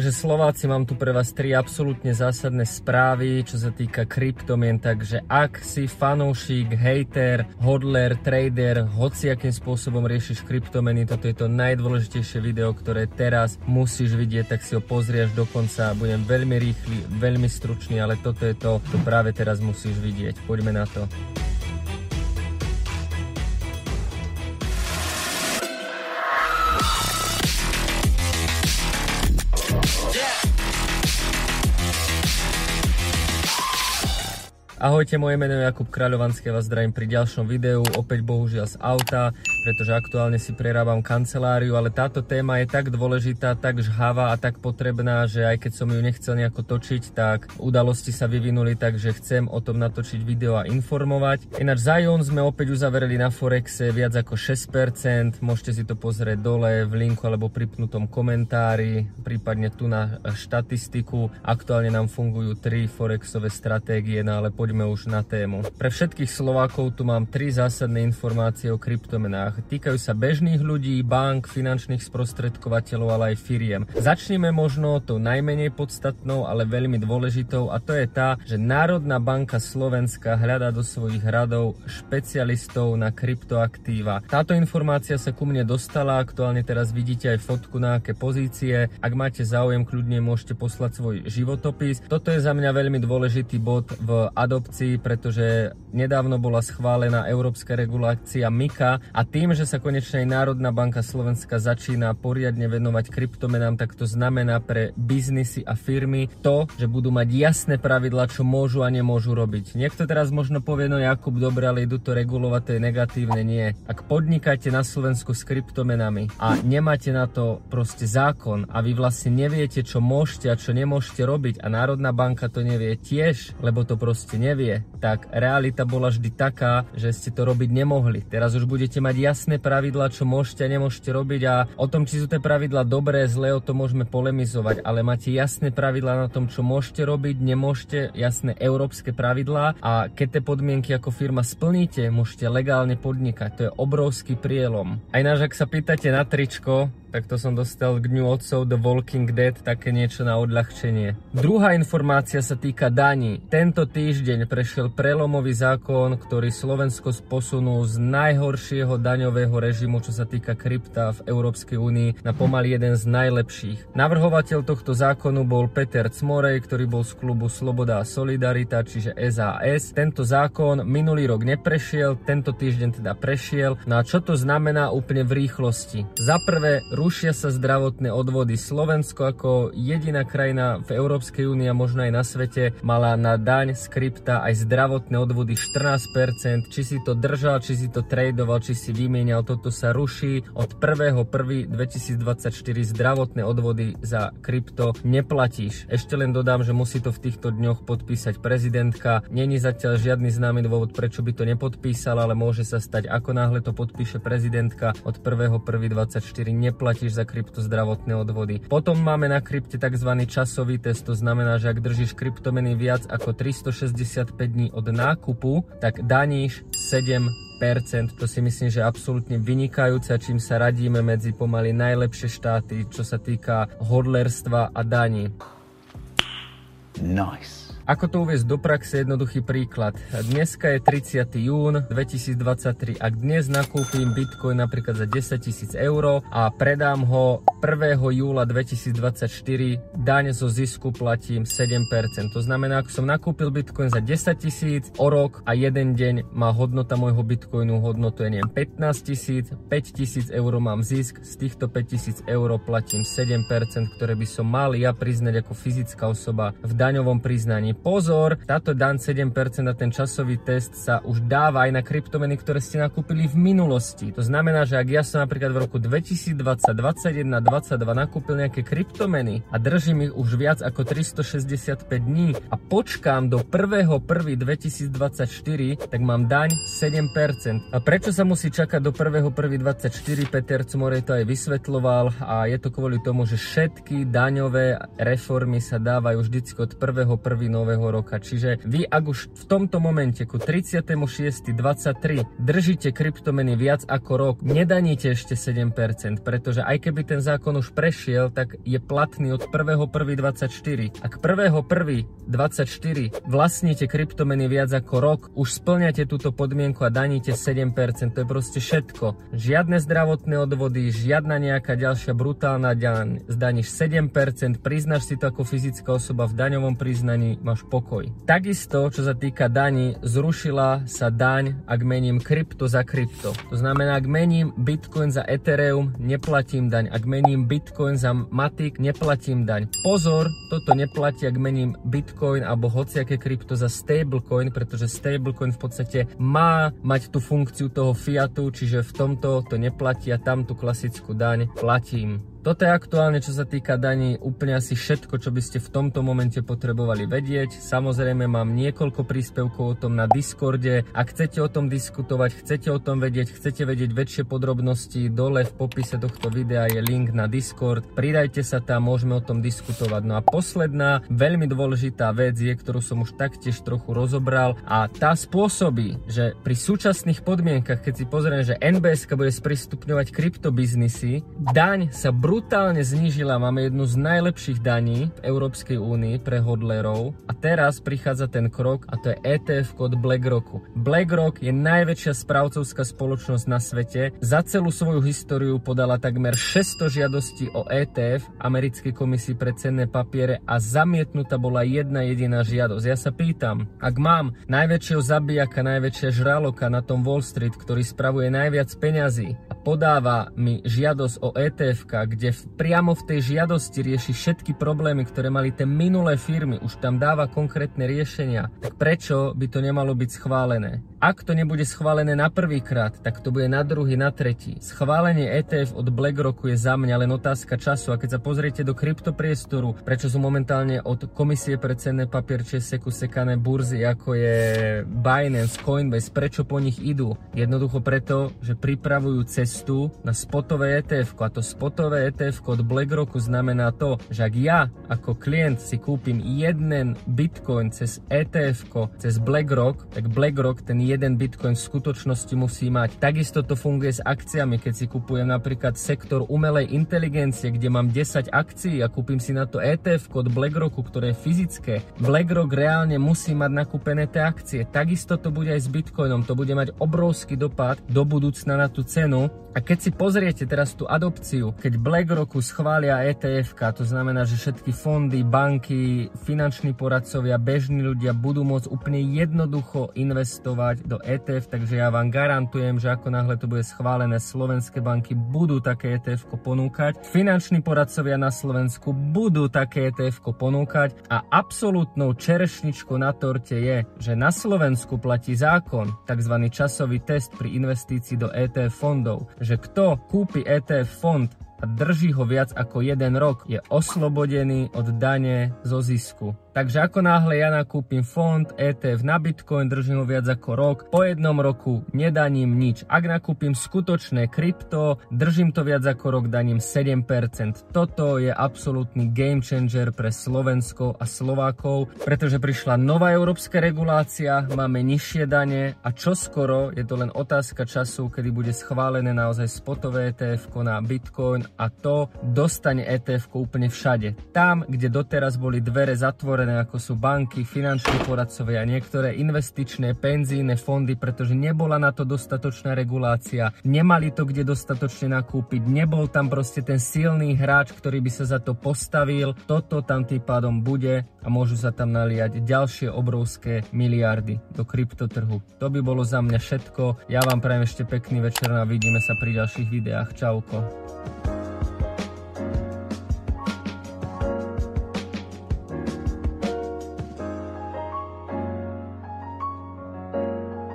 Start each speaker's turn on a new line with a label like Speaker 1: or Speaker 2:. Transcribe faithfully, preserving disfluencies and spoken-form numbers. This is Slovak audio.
Speaker 1: Takže Slováci, mám tu pre vás tri absolútne zásadné správy, čo sa týka kryptomien, takže ak si fanúšik, hejter, hodler, trader, hociakým spôsobom riešiš kryptomeny, toto je to najdôležitejšie video, ktoré teraz musíš vidieť, tak si ho pozri až do konca. Budem veľmi rýchly, veľmi stručný, ale toto je to, čo práve teraz musíš vidieť. Poďme na to. Ahojte, moje meno je Jakub Kráľovanský, vás zdravím pri ďalšom videu, opäť bohužiaľ z auta, pretože aktuálne si prerábam kanceláriu, ale táto téma je tak dôležitá, tak žhavá a tak potrebná, že aj keď som ju nechcel nejako točiť, tak udalosti sa vyvinuli, takže chcem o tom natočiť video a informovať. Ináč za Ion sme opäť uzavreli na Forexe viac ako šesť percent, môžete si to pozrieť dole v linku alebo pripnutom komentári, prípadne tu na štatistiku. Aktuálne nám fungujú tri Forexové stratégie, no ale poďme už na tému. Pre všetkých Slovákov tu mám tri zásadné informácie o kryptomenách. Týkajú sa bežných ľudí, bank, finančných sprostredkovateľov, ale aj firiem. Začneme možno tou najmenej podstatnou, ale veľmi dôležitou, a to je tá, že Národná banka Slovenska hľadá do svojich radov špecialistov na kryptoaktíva. Táto informácia sa ku mne dostala, aktuálne teraz vidíte aj fotku na aké pozície. Ak máte záujem, kľudne môžete poslať svoj životopis. Toto je za mňa veľmi dôležitý bod v adopcii, pretože nedávno bola schválená európska regulácia MiCA a tým, že sa konečne aj Národná banka Slovenska začína poriadne venovať kryptomenám, tak to znamená pre biznisy a firmy to, že budú mať jasné pravidlá, čo môžu a nemôžu robiť. Niekto teraz možno povie, no Jakub, dobre, ale idú to regulovať, to je negatívne. Nie. Ak podnikáte na Slovensku s kryptomenami a nemáte na to proste zákon a vy vlastne neviete, čo môžete a čo nemôžete robiť a Národná banka to nevie tiež, lebo to proste nevie, tak realita bola vždy taká, že ste to robiť nemohli. Teraz už budete mať jasné pravidlá, čo môžete a nemôžete robiť, a o tom, či sú tie pravidlá dobré, zlé, o tom môžeme polemizovať, ale máte jasné pravidlá na tom, čo môžete robiť, nemôžete, jasné európske pravidlá, a keď tie podmienky ako firma splníte, môžete legálne podnikať. To je obrovský prielom. Aj náš, ak sa pýtate na tričko, tak to som dostal k Dňu otcov The Walking Dead, také niečo na odľahčenie. Druhá informácia sa týka daní. Tento týždeň prešiel prelomový zákon, ktorý Slovensko posunul z najhoršieho daňového režimu, čo sa týka krypta v Európskej únii, na pomaly jeden z najlepších. Navrhovateľ tohto zákonu bol Peter Cmorej, ktorý bol z klubu Sloboda a Solidarita, čiže es a es. Tento zákon minulý rok neprešiel, tento týždeň teda prešiel. No a čo to znamená úplne v rýchlosti? Za prvé, rušia sa zdravotné odvody. Slovensko ako jediná krajina v Európskej únii a možno aj na svete mala na daň z krypta aj zdravotné odvody štrnásť percent. Či si to držal, či si to tradoval, či si vymienial, toto sa ruší. Od prvého prvého dvetisícdvadsaťštyri zdravotné odvody za krypto neplatíš. Ešte len dodám, že musí to v týchto dňoch podpísať prezidentka. Není zatiaľ žiadny známy dôvod, prečo by to nepodpísala, ale môže sa stať, ako náhle to podpíše prezidentka, od prvého prvého dvadsaťštyri neplatíš platíš za krypto zdravotné odvody. Potom máme na krypte tzv. Časový test, to znamená, že ak držíš kryptomeny viac ako tristošesťdesiatpäť dní od nákupu, tak daníš sedem percent. To si myslím, že je absolútne vynikajúce, čím sa radíme medzi pomaly najlepšie štáty, čo sa týka hodlerstva a daní. Nice. Ako to uviesť do praxe? Jednoduchý príklad. Dneska je tridsiateho júna dvetisícdvadsaťtri. Ak dnes nakúpim Bitcoin napríklad za desaťtisíc eur a predám ho prvého júla dvetisícdvadsaťštyri, daň zo zisku platím sedem percent. To znamená, ak som nakúpil Bitcoin za desaťtisíc, o rok a jeden deň má hodnota môjho Bitcoinu hodnotu, je neviem, pätnásťtisíc, päťtisíc eur mám zisk, z týchto päťtisíc eur platím sedem percent, ktoré by som mal ja priznať ako fyzická osoba v daňovom priznaní. Pozor, táto daň sedem percent a ten časový test sa už dáva aj na kryptomeny, ktoré ste nakúpili v minulosti. To znamená, že ak ja som napríklad v roku dvetisícdvadsať, dvadsaťjeden, dvadsaťdva nakúpil nejaké kryptomeny a držím ich už viac ako tristošesťdesiatpäť dní a počkám do prvého prvého dvetisícdvadsaťštyri, tak mám daň sedem percent. A prečo sa musí čakať do prvého prvého dvadsaťštyri? Peter Cmorej to aj vysvetľoval, a je to kvôli tomu, že všetky daňové reformy sa dávajú vždycky od prvého prvého nového roka. Čiže vy, ak už v tomto momente ku tridsiatemu šiestemu dvadsaťtri držíte kryptomeny viac ako rok, nedaníte ešte sedem percent, pretože aj keby ten zákon už prešiel, tak je platný od prvého prvého dvadsaťštyri. Ak prvého prvého dvadsaťštyri vlastníte kryptomeny viac ako rok, už splňate túto podmienku a daníte sedem percent. To je proste všetko. Žiadne zdravotné odvody, žiadna nejaká ďalšia brutálna daň. Zdaníš sedem percent, priznáš si to ako fyzická osoba v daňovom priznaní, máš pokoj. Takisto, čo sa týka daní, zrušila sa daň, ak mením krypto za krypto. To znamená, ak mením Bitcoin za Ethereum, neplatím daň. Ak mením Bitcoin za Matic, neplatím daň. Pozor, toto neplatí, ak mením Bitcoin alebo hociaké krypto za stablecoin, pretože stablecoin v podstate má mať tú funkciu toho fiatu, čiže v tomto to neplatí a tam tú klasickú daň platím. Toto je aktuálne, čo sa týka daní, úplne asi všetko, čo by ste v tomto momente potrebovali vedieť. Samozrejme mám niekoľko príspevkov o tom na Discorde. Ak chcete o tom diskutovať, chcete o tom vedieť, chcete vedieť väčšie podrobnosti, dole v popise tohto videa je link na Discord. Pridajte sa tam, môžeme o tom diskutovať. No a posledná, veľmi dôležitá vec je, ktorú som už taktiež trochu rozobral a tá spôsobí, že pri súčasných podmienkach, keď si pozrieme, že en bé eska bude sprístupňovať kryptobiznisy, daň sa brutálne znížila, máme jednu z najlepších daní v Európskej únii pre hodlerov a teraz prichádza ten krok a to je é té ef od BlackRocku. BlackRock je najväčšia správcovská spoločnosť na svete, za celú svoju históriu podala takmer šesťsto žiadostí o é té ef, Americkej komisii pre cenné papiere, a zamietnutá bola jedna jediná žiadosť. Ja sa pýtam, ak mám najväčšieho zabijaka, najväčšia žraloka na tom Wall Street, ktorý spravuje najviac peňazí a podáva mi žiadosť o é té ef, kde priamo v tej žiadosti rieši všetky problémy, ktoré mali tie minulé firmy, už tam dáva konkrétne riešenia, tak prečo by to nemalo byť schválené? Ak to nebude schválené na prvýkrát, tak to bude na druhý, na tretí. Schválenie é té ef od BlackRocku je za mňa len otázka času a keď sa pozriete do kryptopriestoru, prečo sú momentálne od Komisie pre cenné papiere seku sekané burzy, ako je Binance, Coinbase, prečo po nich idú? Jednoducho preto, že pripravujú cestu na spotové é té ef a to spotové é té ef od BlackRocku znamená to, že ak ja ako klient si kúpim jeden Bitcoin cez é té ef, cez BlackRock, tak BlackRock ten jeden Bitcoin v skutočnosti musí mať. Takisto to funguje s akciami, keď si kupujem napríklad sektor umelej inteligencie, kde mám desať akcií a kúpim si na to é té ef od BlackRocku, ktoré je fyzické. BlackRock reálne musí mať nakúpené tie akcie. Takisto to bude aj s Bitcoinom. To bude mať obrovský dopad do budúcna na tú cenu. A keď si pozriete teraz tú adopciu, keď BlackRocku schvália é té ef, to znamená, že všetky fondy, banky, finanční poradcovia, bežní ľudia budú môcť úplne jednoducho investovať do é té ef, takže ja vám garantujem, že ako náhle to bude schválené, slovenské banky budú také é té ef ponúkať, finanční poradcovia na Slovensku budú také é té ef ponúkať a absolútnou čerešničkou na torte je, že na Slovensku platí zákon, takzvaný časový test pri investícii do é té ef fondov, že kto kúpi é té ef fond a drží ho viac ako jeden rok, je oslobodený od dane zo zisku. Takže ako náhle ja nakúpim fond é té ef na Bitcoin, držím ho viac ako rok, po jednom roku nedaním nič. Ak nakúpim skutočné krypto, držím to viac ako rok, daním sedem percent. Toto je absolútny game changer pre Slovensko a Slovákov, pretože prišla nová európska regulácia, máme nižšie dane a čoskoro, je to len otázka času, kedy bude schválené naozaj spotové é té ef na Bitcoin a to dostane é té ef úplne všade. Tam, kde doteraz boli dvere zatvorené, ako sú banky, finanční poradcovia, niektoré investičné, penzíne fondy, pretože nebola na to dostatočná regulácia, nemali to kde dostatočne nakúpiť, nebol tam proste ten silný hráč, ktorý by sa za to postavil. Toto tam tým pádom bude a môžu sa tam naliať ďalšie obrovské miliardy do kryptotrhu. To by bolo za mňa všetko. Ja vám prajem ešte pekný večer a vidíme sa pri ďalších videách. Čauko.